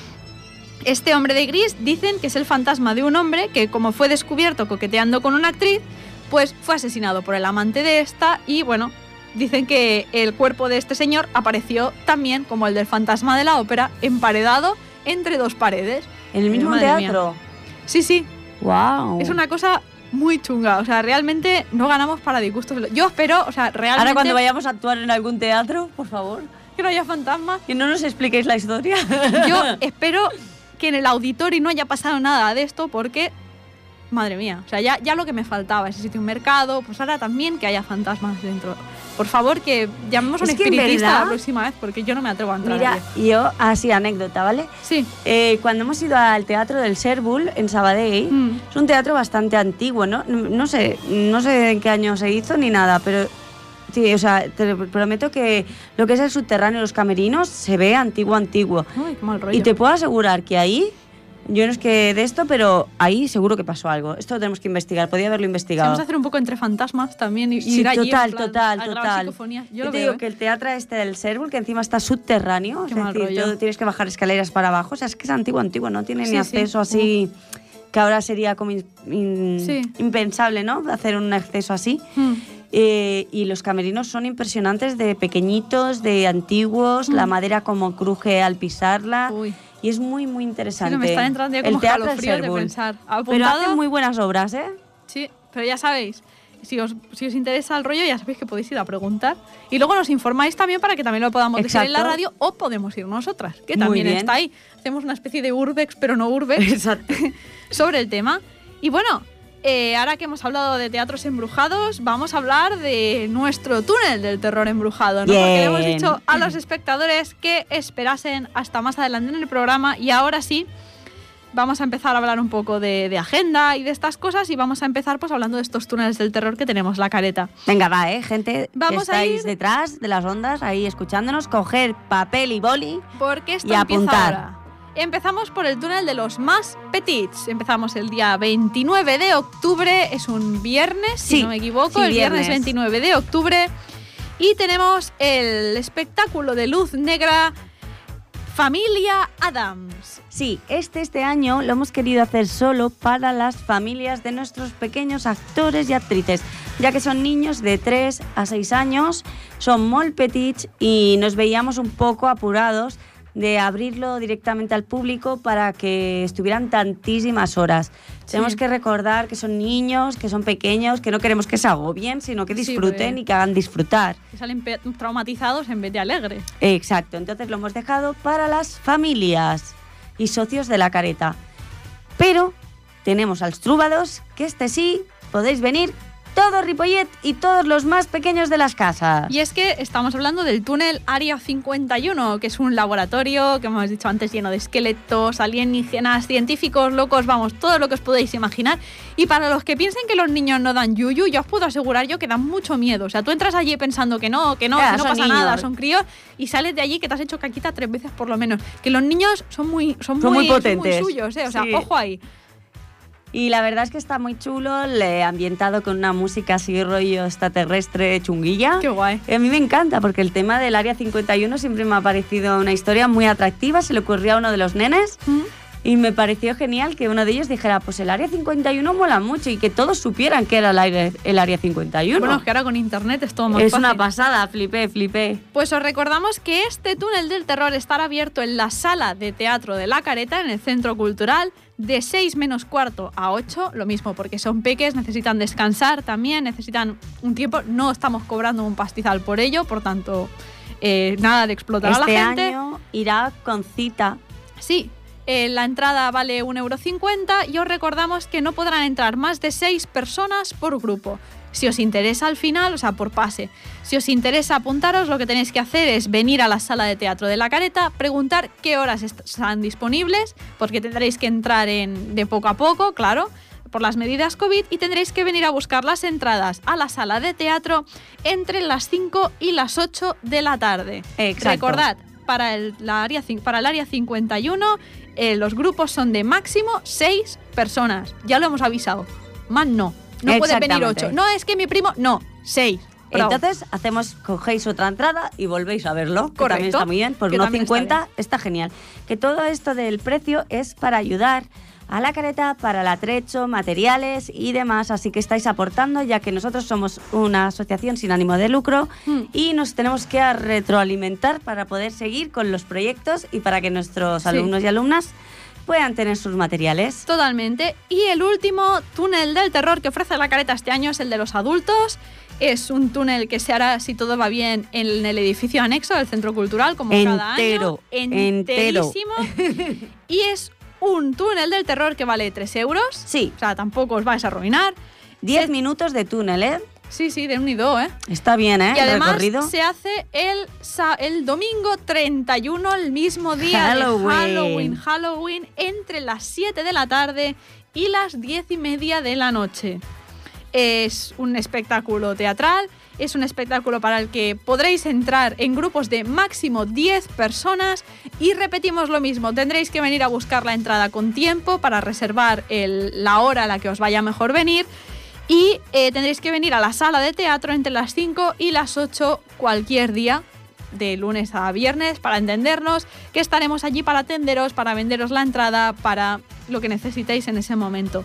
Este hombre de gris dicen que es el fantasma de un hombre que, como fue descubierto coqueteando con una actriz, pues fue asesinado por el amante de esta y, bueno, dicen que el cuerpo de este señor apareció también, como el del fantasma de la ópera, emparedado entre 2 paredes. ¿En el mismo Madre teatro? mía. Sí, sí. ¡Wow! Es una cosa muy chunga. O sea, realmente no ganamos para disgustos. Yo espero, o sea, realmente... Ahora cuando vayamos a actuar en algún teatro, por favor, que no haya fantasmas. que no nos expliquéis la historia. Yo espero que en el auditorio no haya pasado nada de esto porque... Madre mía, o sea, ya lo que me faltaba, ese sitio, un mercado, pues ahora también que haya fantasmas dentro. Por favor, que llamemos a un Es que en espiritista verdad- la próxima vez, porque yo no me atrevo a entrar Mira, allí. yo, así anécdota, ¿vale? Sí. Cuando hemos ido al teatro del Sherwood en Sabadell, es un teatro bastante antiguo, ¿no? No sé en qué año se hizo ni nada, pero sí, o sea, te prometo que lo que es el subterráneo, los camerinos, se ve antiguo. Uy, qué mal rollo. Y te puedo asegurar que ahí, yo no es que de esto, pero ahí seguro que pasó algo. Esto lo tenemos que investigar, podía haberlo Sí, investigado. vamos a hacer un poco entre fantasmas también y Sí, ir allí, total, en plan, total, a grabar total. psicofonías. Yo Yo lo te veo, digo ¿eh? que el teatro este del Sherwood, que encima está subterráneo, Qué es mal decir, rollo. tienes que bajar escaleras para abajo, o sea, es que es antiguo, no tiene Sí, ni sí. acceso así, que ahora sería como Sí. impensable, ¿no? Hacer un acceso así. Mm. Y los camerinos son impresionantes, de pequeñitos, de antiguos, la madera como cruje al pisarla. Uy. Y es muy, muy Sí, interesante. que me están entrando ya el como teatro del escalofríos de Sherwood. pensar. Pero Apuntado. hacen muy buenas obras, ¿eh? Sí, pero ya sabéis, si os interesa el rollo, ya sabéis que podéis ir a preguntar. Y luego nos informáis también para que también lo podamos decir en la Exacto. radio o podemos ir nosotras, que Muy también bien. está ahí. Hacemos una especie de urbex, pero no urbex, Exacto. sobre el tema. Y bueno, ahora que hemos hablado de teatros embrujados, vamos a hablar de nuestro túnel del terror embrujado, ¿no? Porque le hemos Bien. dicho a los espectadores que esperasen hasta más adelante en el programa y ahora sí, vamos a empezar a hablar un poco de agenda y de estas cosas y vamos a empezar pues hablando de estos túneles del terror que tenemos la Careta. Venga, va, gente, vamos que estáis detrás de las ondas, ahí escuchándonos, coger papel y boli porque esto y apuntar. Ahora. Empezamos por el túnel de los más petits. Empezamos el día 29 de octubre, es un viernes, si no me equivoco, el viernes 29 de octubre. Y tenemos el espectáculo de luz negra Familia Addams. Sí, este año lo hemos querido hacer solo para las familias de nuestros pequeños actores y actrices, ya que son niños de 3 a 6 años, son molt petits y nos veíamos un poco apurados de abrirlo directamente al público para que estuvieran tantísimas horas. Sí. Tenemos que recordar que son niños, que son pequeños, que no queremos que se agobien, sino que disfruten y que hagan disfrutar. Que salen traumatizados en vez de alegres. Exacto, entonces lo hemos dejado para las familias y socios de la Careta. Pero tenemos als trúbados, que sí, podéis venir todo Ripollet y todos los más pequeños de las casas. Y es que estamos hablando del túnel Área 51, que es un laboratorio, que hemos dicho antes, lleno de esqueletos, alienígenas, científicos, locos, vamos, todo lo que os podéis imaginar. Y para los que piensen que los niños no dan yuyu, yo os puedo asegurar yo que dan mucho miedo. O sea, tú entras allí pensando que no pasa niños. Nada, son críos, y sales de allí que te has hecho caquita 3 veces por lo menos. Que los niños son muy potentes, son muy suyos, o sea, sí. Ojo ahí. Y la verdad es que está muy chulo, le he ambientado con una música así rollo extraterrestre chunguilla. Qué guay. Y a mí me encanta porque el tema del Área 51 siempre me ha parecido una historia muy atractiva, se le ocurrió a uno de los nenes y me pareció genial que uno de ellos dijera, pues el Área 51 mola mucho y que todos supieran que era el Área 51. Bueno, es que ahora con internet es todo más fácil. Es una pasada, flipé. Pues os recordamos que este túnel del terror estará abierto en la sala de teatro de La Careta, en el Centro Cultural, de 6 menos cuarto a 8, lo mismo, porque son peques, necesitan descansar también, necesitan un tiempo, no estamos cobrando un pastizal por ello, por tanto, nada de explotar a la gente. Este año irá con cita. Sí, la entrada vale 1,50 € y os recordamos que no podrán entrar más de 6 personas por grupo. Si os interesa al final, o sea, por pase, si os interesa apuntaros, lo que tenéis que hacer es venir a la sala de teatro de La Careta, preguntar qué horas están disponibles, porque tendréis que entrar de poco a poco, claro, por las medidas COVID, y tendréis que venir a buscar las entradas a la sala de teatro entre las 5 y las 8 de la tarde. Exacto. Recordad, para el área 51, los grupos son de máximo 6 personas. Ya lo hemos avisado. Más no. No pueden venir 8. No, es que mi primo... No, 6. Entonces, cogéis otra entrada y volvéis a verlo. Que también está muy bien. Por 1,50 está genial. Que todo esto del precio es para ayudar a La Careta, para el atrecho, materiales y demás. Así que estáis aportando, ya que nosotros somos una asociación sin ánimo de lucro y nos tenemos que retroalimentar para poder seguir con los proyectos y para que nuestros alumnos y alumnas puedan tener sus materiales. Totalmente. Y el último túnel del terror que ofrece La Careta este año es el de los adultos. Es un túnel que se hará, si todo va bien, en el edificio anexo del Centro Cultural, como cada año. Enterísimo. Y es un túnel del terror que vale 3 €. Sí. O sea, tampoco os vais a arruinar. 10 minutos de túnel, ¿eh? Sí, de unido, ¿eh? Está bien, ¿eh? Y además el recorrido se hace el domingo 31, el mismo día de Halloween, entre las 7 de la tarde y las 10:30 de la noche. Es un espectáculo teatral, es un espectáculo para el que podréis entrar en grupos de máximo 10 personas y repetimos lo mismo, tendréis que venir a buscar la entrada con tiempo para reservar la hora a la que os vaya mejor venir. Y tendréis que venir a la sala de teatro entre las 5 y las 8 cualquier día, de lunes a viernes, para entendernos, que estaremos allí para atenderos, para venderos la entrada, para lo que necesitéis en ese momento.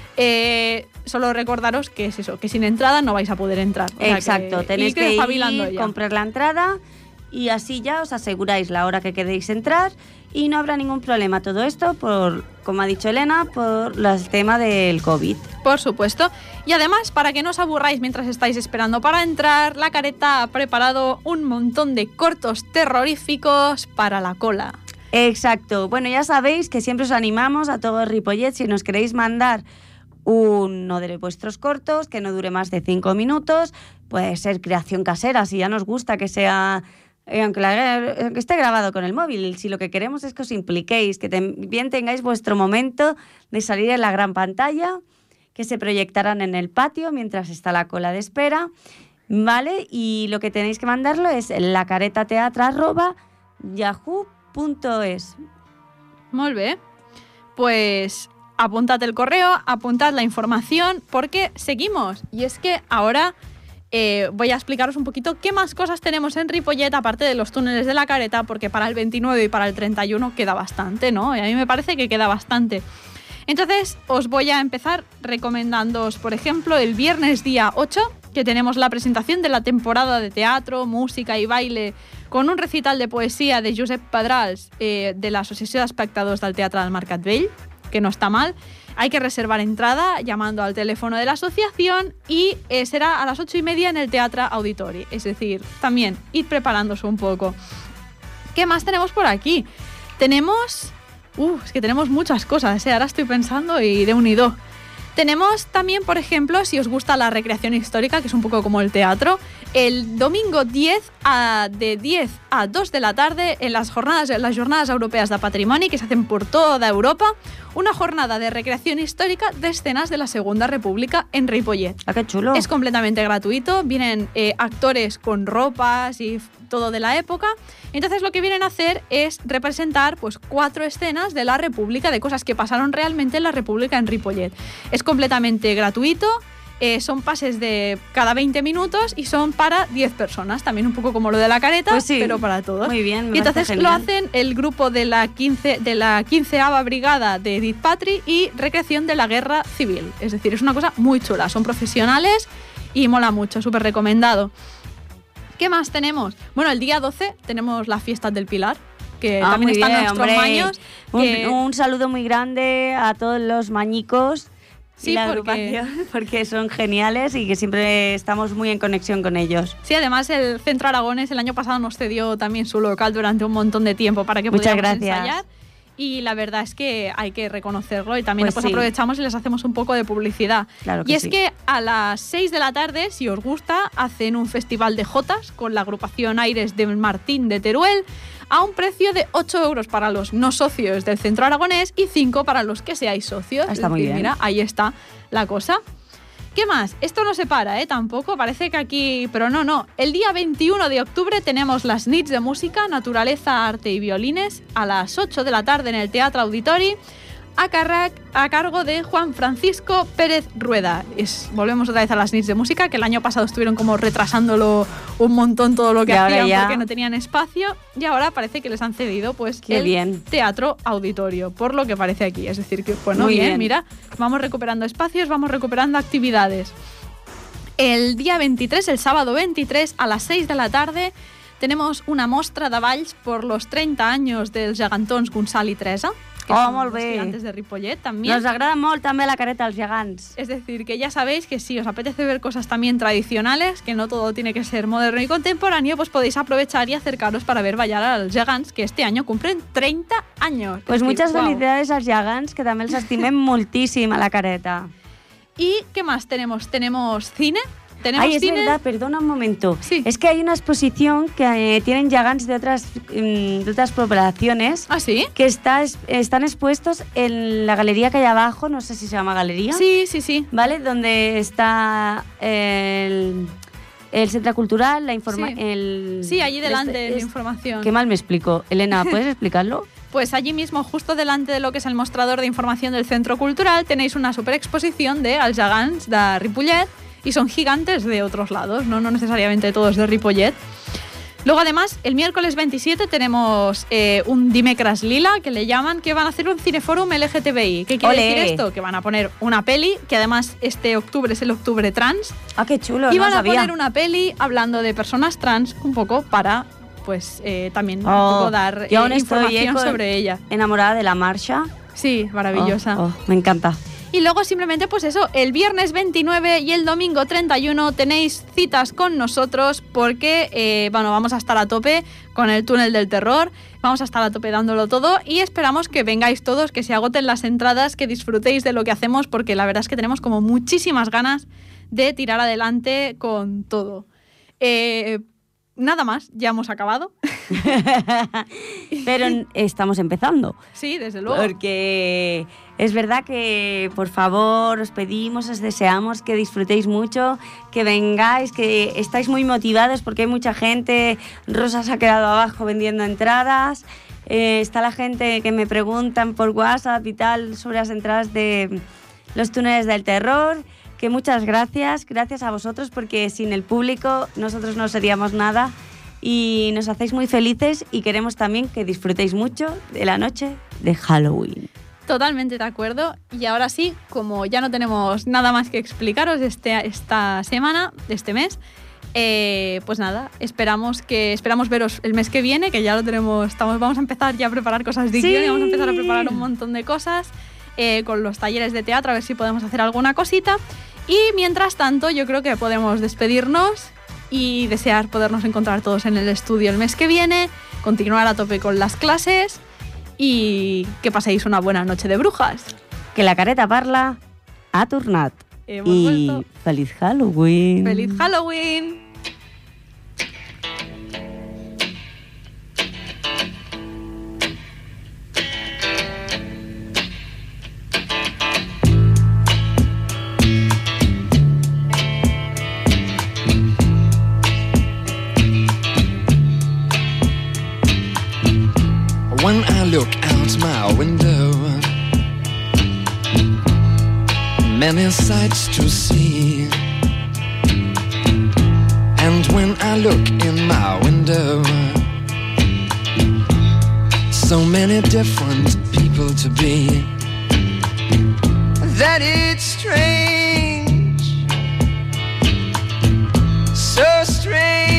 Solo recordaros que es eso, que sin entrada no vais a poder entrar. Exacto, tenéis que ir, comprar la entrada y así ya os aseguráis la hora que queréis entrar y no habrá ningún problema. Todo esto, como ha dicho Elena, por el tema del COVID. Por supuesto. Y además, para que no os aburráis mientras estáis esperando para entrar, La Careta ha preparado un montón de cortos terroríficos para la cola. Exacto. Bueno, ya sabéis que siempre os animamos a todos Ripollet, si nos queréis mandar uno de vuestros cortos que no dure más de 5 minutos, puede ser creación casera, si ya nos gusta que sea aunque esté grabado con el móvil, si lo que queremos es que os impliquéis, que bien tengáis vuestro momento de salir en la gran pantalla, que se proyectarán en el patio mientras está la cola de espera, ¿vale? Y lo que tenéis que mandarlo es lacaretateatra@yahoo.es. Molt bé. Pues apuntad el correo, apuntad la información, porque seguimos. Y es que ahora voy a explicaros un poquito qué más cosas tenemos en Ripollet, aparte de los túneles de la Careta, porque para el 29 y para el 31 queda bastante, ¿no? Y a mí me parece que queda bastante. Entonces, os voy a empezar recomendándoos, por ejemplo, el viernes día 8, que tenemos la presentación de la temporada de teatro, música y baile, con un recital de poesía de Josep Pedrals, de la Associació d'Espectadors del Teatre del Mercat Vell, que no está mal. Hay que reservar entrada llamando al teléfono de la asociación y será a las 8:30 en el Teatre Auditori. Es decir, también id preparándose un poco. ¿Qué más tenemos por aquí? Tenemos... es que tenemos muchas cosas, ahora estoy pensando y de unido. Tenemos también, por ejemplo, si os gusta la recreación histórica, que es un poco como el teatro, el domingo 10 de 10 a 2 de la tarde en las jornadas europeas de patrimoni que se hacen por toda Europa, una jornada de recreación histórica de escenas de la Segunda República en Ripollet. ¡Ah, qué chulo! Es completamente gratuito, vienen actores con ropas y todo de la época. Entonces lo que vienen a hacer es representar pues 4 escenas de la República, de cosas que pasaron realmente en la República en Ripollet. Es completamente gratuito. Son pases de cada 20 minutos y son para 10 personas, también un poco como lo de la Careta, pues sí, pero para todos. Muy bien, y entonces lo hacen el grupo de la 15ª Brigada de Edith Patri y Recreación de la Guerra Civil. Es decir, es una cosa muy chula, son profesionales y mola mucho, súper recomendado. ¿Qué más tenemos? Bueno, el día 12 tenemos las fiestas del Pilar, que también están en nuestros maños. Un saludo muy grande a todos los mañicos. Sí, la agrupación, porque son geniales y que siempre estamos muy en conexión con ellos. Sí, además el Centro Aragones el año pasado nos cedió también su local durante un montón de tiempo para que pudiéramos ensayar. Y la verdad es que hay que reconocerlo y también pues aprovechamos y les hacemos un poco de publicidad. Claro que y es que a las 6 de la tarde, si os gusta, hacen un festival de jotas con la agrupación Aires de Martín de Teruel a un precio de 8 euros para los no socios del Centro Aragonés y 5 para los que seáis socios. Está muy bien. Mira, ahí está la cosa. ¿Qué más? Esto no se para, tampoco. Parece que aquí... Pero no. El día 21 de octubre tenemos las nits de música, naturaleza, arte y violines a las 8 de la tarde en el Teatre Auditori a cargo de Juan Francisco Pérez Rueda. Volvemos otra vez a las nits de música, que el año pasado estuvieron como retrasándolo un montón todo lo que hacían porque no tenían espacio y ahora parece que les han cedido pues Teatro Auditorio, por lo que parece aquí. Es decir, que bueno, bien, mira, vamos recuperando espacios, vamos recuperando actividades. El día 23, el sábado 23, a las 6 de la tarde, tenemos una mostra de balls por los 30 anys dels gegantons Gonçal i Teresa, que son molt bé. estudiantes de Ripollet también. Nos agrada molt també la careta als gegants. Es decir, que ya sabéis que si os apetece ver cosas también tradicionales, que no todo tiene que ser moderno y contemporáneo, pues podéis aprovechar y acercaros para ver ballar a los gegants, que este año cumplen 30 años. Pues muchas felicidades als gegants, que també els estimem moltíssim a la careta. ¿Y qué más tenemos? ¿Tenemos cine? Ay, es verdad, perdona un momento. Sí. Es que hay una exposición que tienen gegants de otras poblaciones. ¿Ah, sí? Que están expuestos en la galería que hay abajo, no sé si se llama galería. Sí, sí, sí. ¿Vale? Donde está el Centro Cultural, la información. Sí, allí delante la información. Qué mal me explico. Elena, ¿puedes explicarlo? Pues allí mismo, justo delante de lo que es el mostrador de información del Centro Cultural, tenéis una super exposición de els gegants de Ripollet. Y son gigantes de otros lados, no necesariamente todos de Ripollet. Luego, además, el miércoles 27 tenemos un Dimecres Lila, que le llaman, que van a hacer un cineforum LGTBI. ¿Qué quiere decir esto? Que van a poner una peli, que además este octubre es el octubre trans. ¡Ah, qué chulo! Y van a poner una peli hablando de personas trans, un poco para, pues, también un poco dar información sobre ella. Enamorada de la Marsha. Sí, maravillosa. Me encanta. Y luego simplemente pues eso, el viernes 29 y el domingo 31 tenéis citas con nosotros porque vamos a estar a tope con el túnel del terror, vamos a estar a tope dándolo todo y esperamos que vengáis todos, que se agoten las entradas, que disfrutéis de lo que hacemos porque la verdad es que tenemos como muchísimas ganas de tirar adelante con todo. nada más, ya hemos acabado. Pero estamos empezando. Sí, desde luego. Porque es verdad que, por favor, os pedimos, os deseamos que disfrutéis mucho, que vengáis, que estáis muy motivados porque hay mucha gente. Rosa se ha quedado abajo vendiendo entradas. Está la gente que me preguntan por WhatsApp y tal sobre las entradas de los túneles del terror. Que muchas gracias a vosotros, porque sin el público nosotros no seríamos nada y nos hacéis muy felices y queremos también que disfrutéis mucho de la noche de Halloween. Totalmente de acuerdo. Y ahora sí, como ya no tenemos nada más que explicaros esta semana, este mes, pues nada, esperamos veros el mes que viene, que ya lo tenemos, vamos a empezar ya a preparar cosas de guión y vamos a empezar a preparar un montón de cosas con los talleres de teatro, a ver si podemos hacer alguna cosita. Y mientras tanto, yo creo que podemos despedirnos y desear podernos encontrar todos en el estudio el mes que viene, continuar a tope con las clases y que paséis una buena noche de brujas. Que la careta parla ha tornat. Hemos y vuelto. ¡Feliz Halloween! ¡Feliz Halloween! When I look out my window, many sights to see. And when I look in my window, so many different people to be, that it's strange, so strange.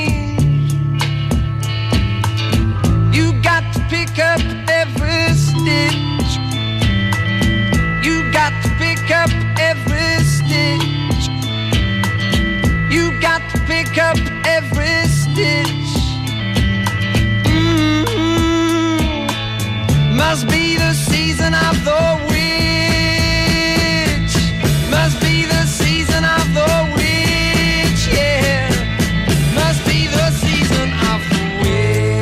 Pick up every stitch. You got to pick up every stitch. You got to pick up every stitch. Must be the season of the witch. Must be the season of the witch, yeah. Must be the season of the witch.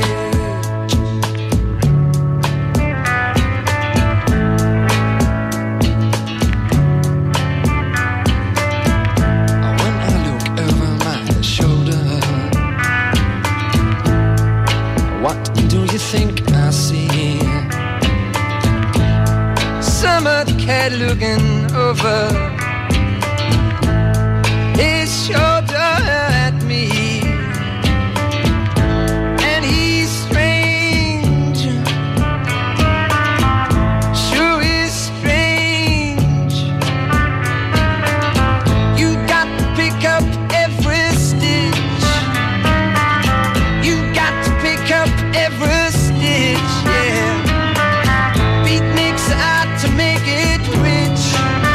Think I see summer cat looking over his shoulder at me, and he's strange, sure is strange. You got to pick up every stitch. You got to pick up every stitch, yeah. Beatniks out to make it rich.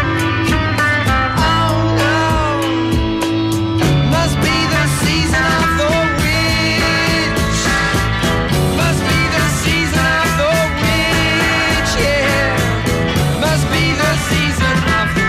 Oh no, must be the season of the witch. Must be the season of the witch, yeah. Must be the season of the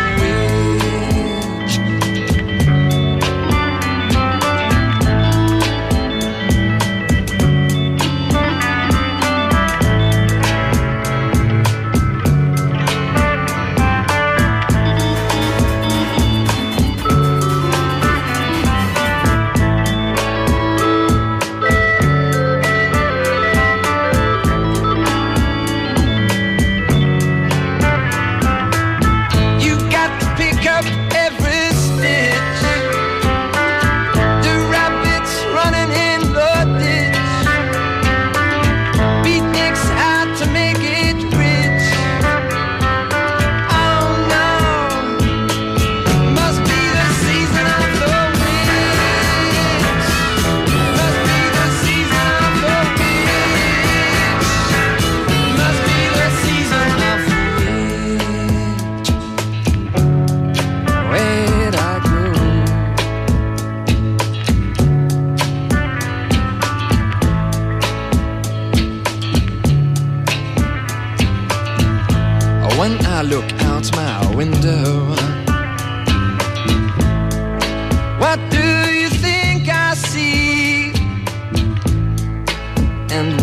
when I look out my window, what do you think I see?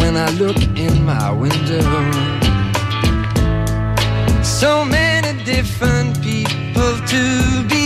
when I look in my window. So many different people to be